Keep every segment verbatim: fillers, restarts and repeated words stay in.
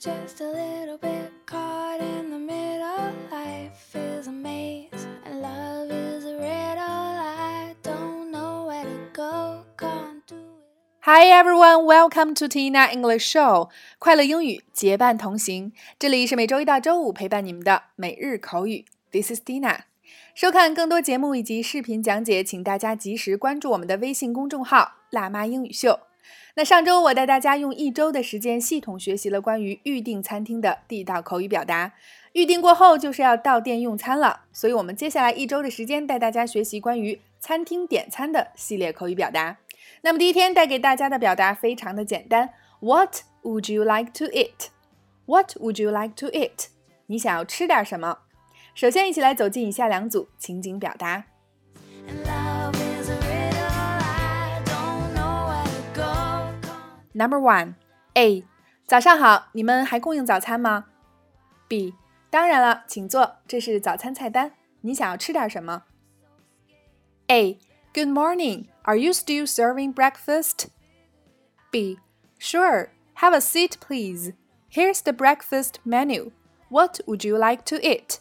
just a little bit caught in the middle. Life is a maze and love is a riddle. I don't know where to go, can't do it. Hi everyone, welcome to Tina English Show. 快乐英语结伴同行，这里是每周一到周五陪伴你们的每日口语。This is Tina。收看更多节目以及视频讲解，请大家及时关注我们的微信公众号“辣妈英语秀”。那上周我带大家用一周的时间系统学习了关于预订餐厅的地道口语表达。预订过后就是要到店用餐了，所以我们接下来一周的时间带大家学习关于餐厅点餐的系列口语表达。那么第一天带给大家的表达非常的简单 What would you like to eat? What would you like to eat? 你想要吃点什么？首先一起来走进以下两组情景表达。Number one, A. 早上好，你们还供应早餐吗？ B. 当然了，请坐，这是早餐菜单，你想要吃点什么？ A. Good morning, are you still serving breakfast? B. Sure, have a seat please. Here's the breakfast menu. What would you like to eat?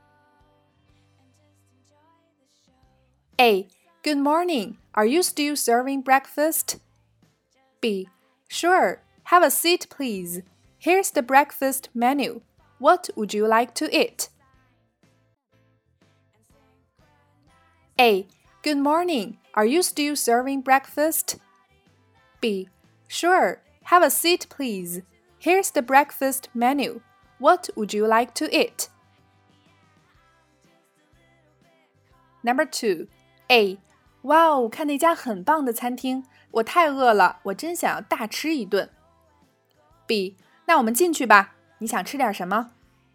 A. Good morning, are you still serving breakfast? B. Sure, have a seat please. Here's the breakfast menu. What would you like to eat? A. Good morning, are you still serving breakfast? B. Sure, have a seat please. Here's the breakfast menu. What would you like to eat? Number two, A. 哇哦，看那家很棒的餐厅，我太饿了，我真想要大吃一顿。B. 那我们进去吧，你想吃点什么？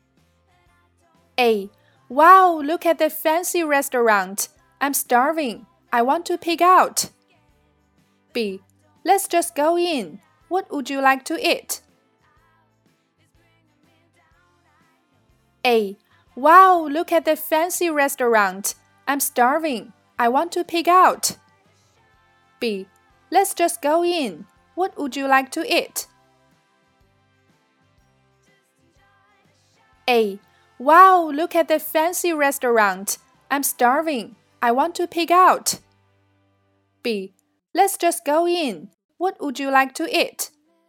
A. Wow, look at that fancy restaurant. I'm starving. I want to pig out. B. Let's just go in. What would you like to eat? A. Wow, look at that fancy restaurant. I'm starving. I want to pig out. B. Let's just go in. What would you like to eat? A. Wow, look at that fancy restaurant. I'm starving. I want to pig out. B. Let's just go in. What would you like to eat?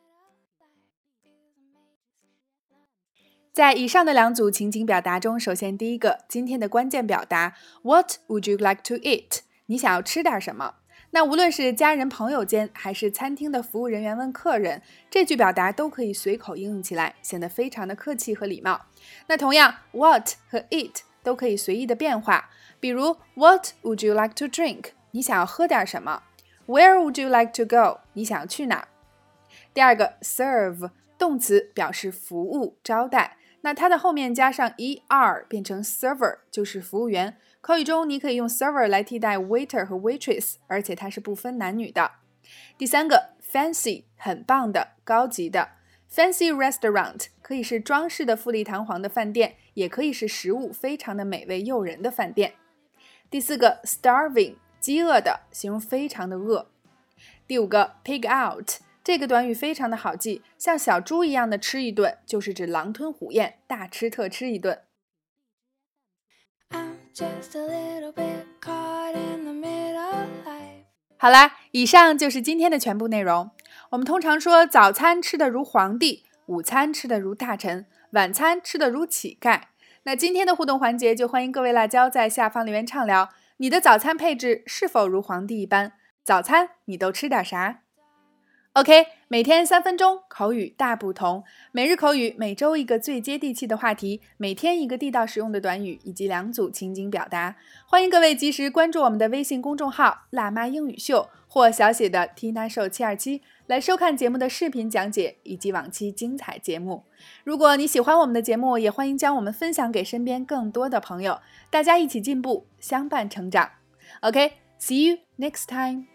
在以上的两组情景表达中，首先第一个，今天的关键表达 What would you like to eat? 你想要吃点什么？那无论是家人朋友间，还是餐厅的服务人员问客人，这句表达都可以随口应用起来，显得非常的客气和礼貌。那同样 What 和 eat 都可以随意的变化，比如 What would you like to drink? 你想要喝点什么？ Where would you like to go? 你想要去哪？第二个 serve 动词表示服务招待，那它的后面加上 er 变成 server 就是服务员。口语中你可以用 server 来替代 waiter 和 waitress， 而且它是不分男女的。第三个 fancy 很棒的高级的， fancy restaurant 可以是装饰的富丽堂皇的饭店，也可以是食物非常的美味诱人的饭店。第四个 starving 饥饿的，形容非常的饿。第五个 pig out， 这个短语非常的好记，像小猪一样的吃一顿，就是指狼吞虎咽，大吃特吃一顿。 Just a little bit caught in the middle. Life. 好啦，以上就是今天的全部内容。我们通常说早餐吃得如皇帝，午餐吃得如大臣，晚餐吃得如乞丐。那今天的互动环节就欢迎各位辣椒在下方留言畅聊，你的早餐配置是否如皇帝一般？早餐你都吃点啥？ OK， 每天三分钟，口语大不同。每日口语，每周一个最接地气的话题，每天一个地道实用的短语，以及两组情景表达。欢迎各位及时关注我们的微信公众号“辣妈英语秀”或小写的 Tina Show 七二七，来收看节目的视频讲解以及往期精彩节目。如果你喜欢我们的节目，也欢迎将我们分享给身边更多的朋友，大家一起进步，相伴成长。OK，see you next time.